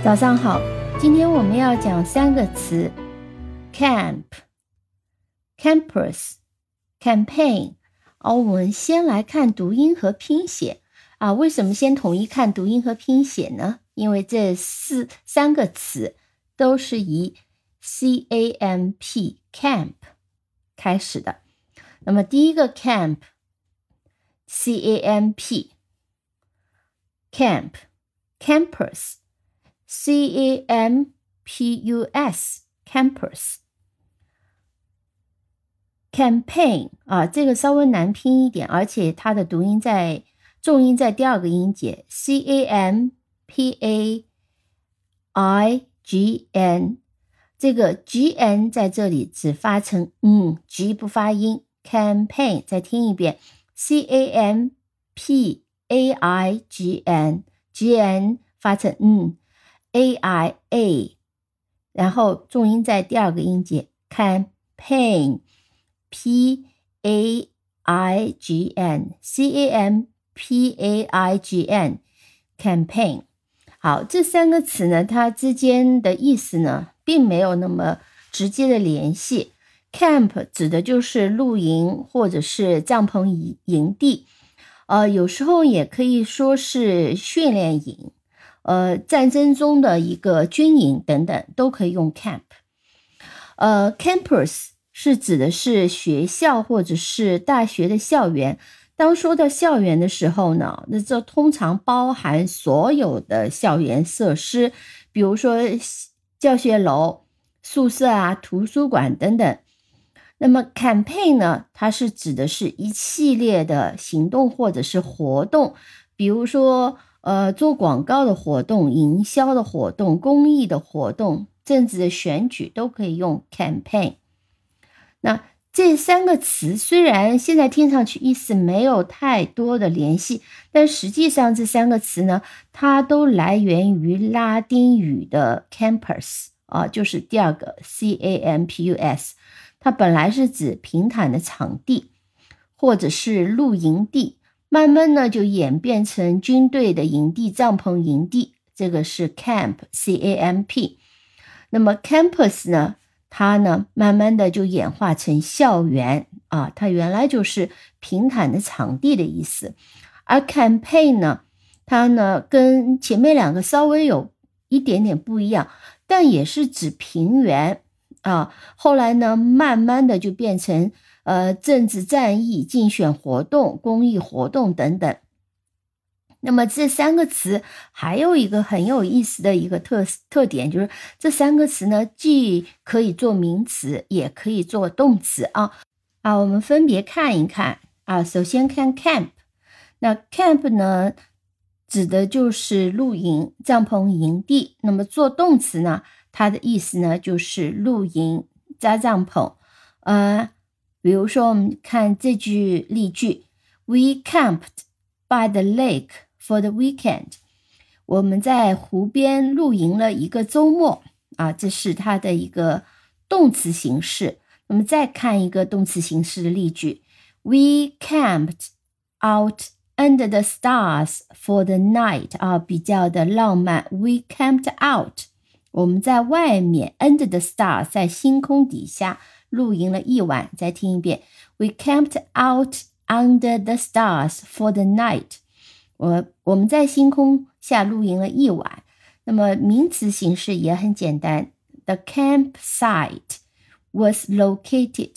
早上好，今天我们要讲3个词 camp、campus、campaign。我们先来看读音和拼写为什么先统一看读音和拼写呢？因为这三个词都是以 CAMP camp 开始的。那么第一个 camp CAMP camp campus CAMPUS campus campaign 这个稍微难拼一点，而且它的重音在第二个音节 CAMPAIGN， 这个 GN 在这里只发成G 不发音。 campaign 再听一遍 CAMPAIGN GN 发成AIA， 然后重音在第二个音节 campaign PAIGN CAMPAIGN campaign。 好，这3个词呢，它之间的意思呢并没有那么直接的联系。 camp 指的就是露营或者是帐篷营地，有时候也可以说是训练营，战争中的一个军营等等都可以用 camp。 campus 是指的是学校或者是大学的校园。当说到校园的时候呢，那这通常包含所有的校园设施，比如说教学楼、宿舍图书馆等等。那么 campaign 呢，它是指的是一系列的行动或者是活动，比如说做广告的活动、营销的活动、公益的活动、政治的选举都可以用 campaign。 那这3个词虽然现在听上去意思没有太多的联系，但实际上这3个词呢，它都来源于拉丁语的 campus，就是第二个 CAMPUS， 它本来是指平坦的场地或者是露营地，慢慢呢就演变成军队的营地、帐篷营地，这个是 camp CAMP。 那么 campus 呢，它呢慢慢的就演化成校园它原来就是平坦的场地的意思。而 campaign 呢，它呢跟前面2个稍微有一点点不一样，但也是指平原后来呢慢慢的就变成政治战役、竞选活动、公益活动等等。那么这3个词还有一个很有意思的一个特点，就是这3个词呢既可以做名词也可以做动词我们分别看一看首先看 camp。 那 camp 呢指的就是露营、帐篷营地。那么做动词呢，它的意思呢就是露营、扎帐篷。比如说我们看这句例句 We camped by the lake for the weekend， 我们在湖边露营了一个周末这是它的一个动词形式。那么再看一个动词形式的例句 We camped out under the stars for the night， 比较的浪漫。 We camped out， 我们在外面 under the stars， 在星空底下露营了一晚。再听一遍 We camped out under the stars for the night， 我们在星空下露营了一晚。那么名词形式也很简单， The campsite was located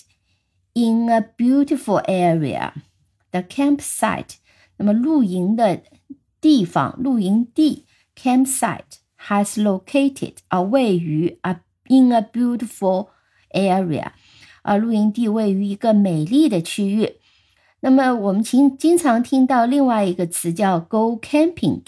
in a beautiful area。 The campsite， 那么露营的地方、露营地 campsite has located 位于in a beautiful area， 露营地位于一个美丽的区域。那么我们经常听到另外一个词叫 go camping，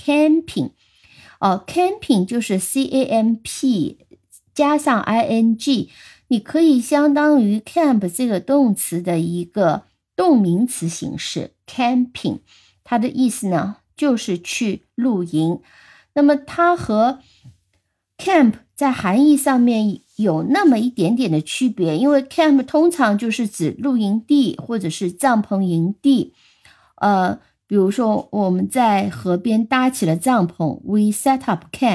camping 就是 CAMP 加上 ING， 你可以相当于 camp 这个动词的一个动名词形式 camping， 它的意思呢就是去露营。那么它和 camp 在含义上面有那么一点点的区别，因为 camp 通常就是指露营地或者是帐篷营地。比如说我们在河边搭起了帐篷 We set up camp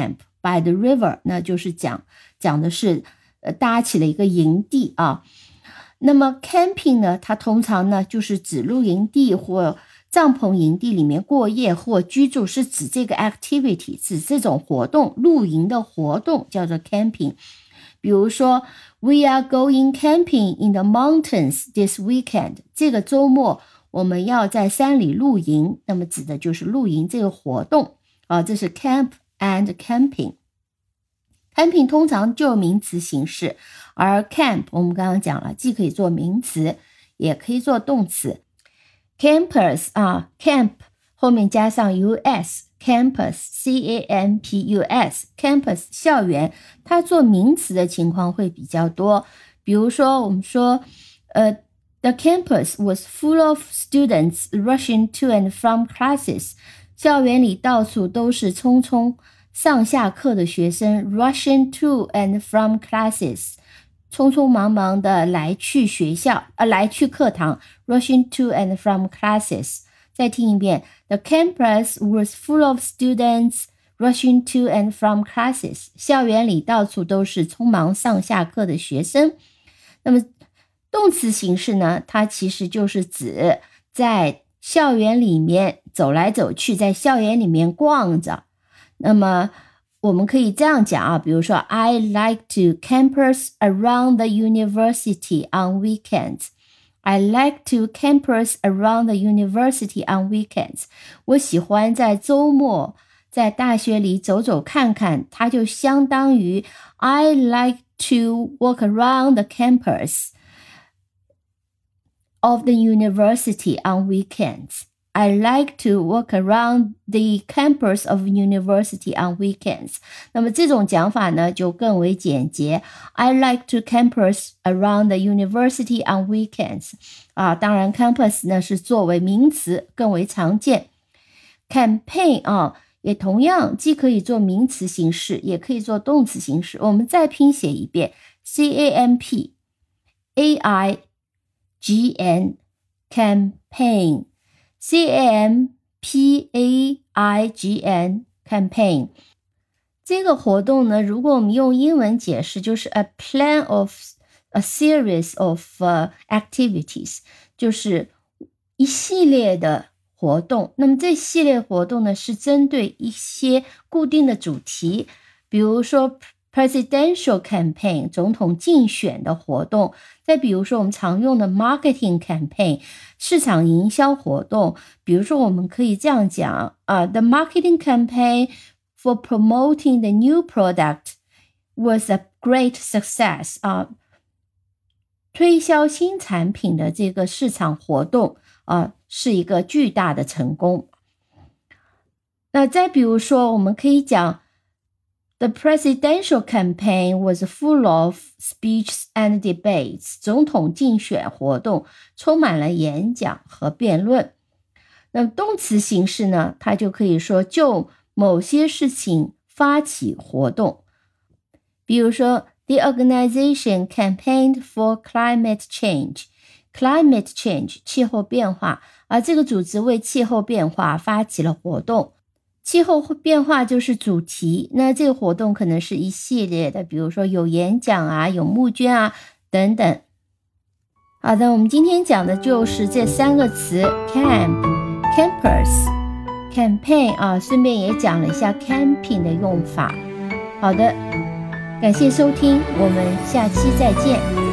by the river， 那就是讲的是搭起了一个营地啊。那么 camping 呢，它通常呢就是指露营地或帐篷营地里面过夜或居住，是指这个 activity， 指这种活动，露营的活动叫做 camping。比如说 We are going camping in the mountains this weekend， 这个周末我们要在山里露营，那么指的就是露营这个活动啊，这是 camp and camping。camping 通常就名词形式，而 camp 我们刚刚讲了，既可以做名词，也可以做动词。campus 啊 ，camp 后面加上 us，campus C-A-M-P-U-S campus 校园，它做名词的情况会比较多。比如说我们说The campus was full of students rushing to and from classes， 校园里到处都是匆匆上下课的学生 rushing to and from classes， 匆匆忙忙的来去学校来去课堂 rushing to and from classes。 再听一遍 The campus was full of students rushing to and from classes， 校园里到处都是匆忙上下课的学生。那么动词形式呢，它其实就是指在校园里面走来走去，在校园里面逛着。那么我们可以这样讲啊，比如说 I like to campus around the university on weekends。 I like to campus around the university on weekends。 我喜欢在周末在大学里走走看看，它就相当于 I like to walk around the campus of the university on weekends。I like to walk around the campus of university on weekends。 那么这种讲法呢就更为简洁 I like to campus around the university on weekends。 当然 campus 呢是作为名词更为常见。 campaign 也同样既可以做名词形式也可以做动词形式。我们再拼写一遍 C-A-M-P-A-I-G-N campaign C-A-M-P-A-I-G-N campaign。 这个活动呢，如果我们用英文解释，就是 a plan of a series of activities， 就是一系列的活动。那么这系列活动呢，是针对一些固定的主题，比如说presidential campaign 总统竞选的活动，再比如说我们常用的 marketing campaign 市场营销活动。比如说我们可以这样讲the marketing campaign for promoting the new product was a great success。 推销新产品的这个市场活动是一个巨大的成功。那再比如说我们可以讲The presidential campaign was full of speeches and debates。 总统竞选活动充满了演讲和辩论。那么动词形式呢，它就可以说就某些事情发起活动。比如说 The organization campaigned for climate change。 Climate change 气候变化，而这个组织为气候变化发起了活动。气候变化就是主题，那这个活动可能是一系列的，比如说有演讲有募捐等等。好的，我们今天讲的就是这三个词 camp、campus、campaign顺便也讲了一下 camping 的用法。好的，感谢收听，我们下期再见。